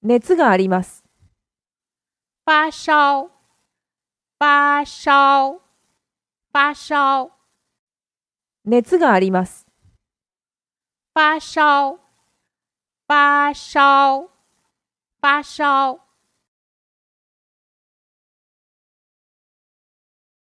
熱があります。 发烧，发烧，发烧， 熱があります。 发烧，发烧，发烧。